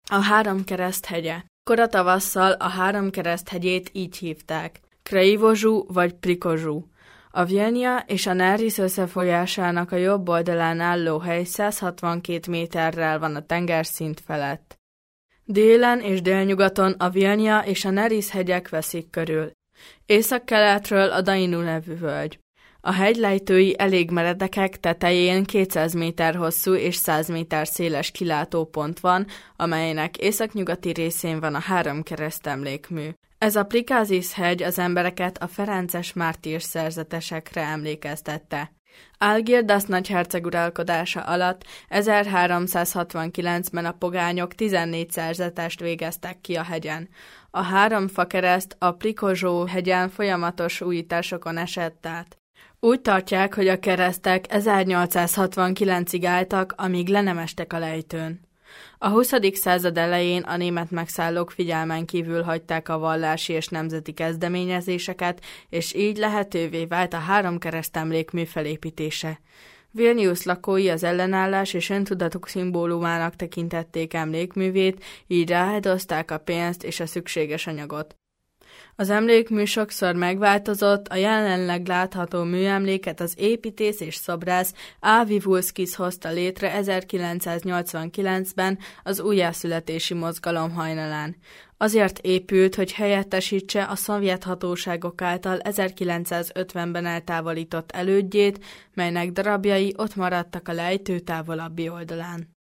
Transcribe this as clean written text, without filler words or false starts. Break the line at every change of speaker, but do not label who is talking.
A Háromkereszt hegye. Kora tavasszal a Háromkereszt hegyét így hívták: Kraivozu vagy Prikozsu. A Vilnia és a Neris összefolyásának a jobb oldalán álló hely 162 méterrel van a tengerszint felett. Délen és délnyugaton a Vilnia és a Neris hegyek veszik körül. Északkeletről a Dainu nevű völgy. A hegylejtői elég meredekek, tetején 200 méter hosszú és 100 méter széles kilátópont van, amelynek északnyugati részén van a Háromkereszt emlékmű. Ez a Prikázis hegy az embereket a ferences mártír szerzetesekre emlékeztette. Algirdas nagyherceg uralkodása alatt 1369-ben a pogányok 14 szerzetest végeztek ki a hegyen. A három fakereszt a Prikozsó hegyen folyamatos újításokon esett át. Úgy tartják, hogy a keresztek 1869-ig álltak, amíg le nem estek a lejtőn. A 20. század elején a német megszállók figyelmen kívül hagyták a vallási és nemzeti kezdeményezéseket, és így lehetővé vált a Háromkereszt emlékmű felépítése. Vilnius lakói az ellenállás és öntudatuk szimbólumának tekintették emlékművét, így ráhedozták a pénzt és a szükséges anyagot. Az emlékmű sokszor megváltozott, a jelenleg látható műemléket az építész és szobrász Avi Vulszkis hozta létre 1989-ben az újjászületési mozgalom hajnalán. Azért épült, hogy helyettesítse a szovjet hatóságok által 1950-ben eltávolított elődjét, melynek darabjai ott maradtak a lejtő távolabbi oldalán.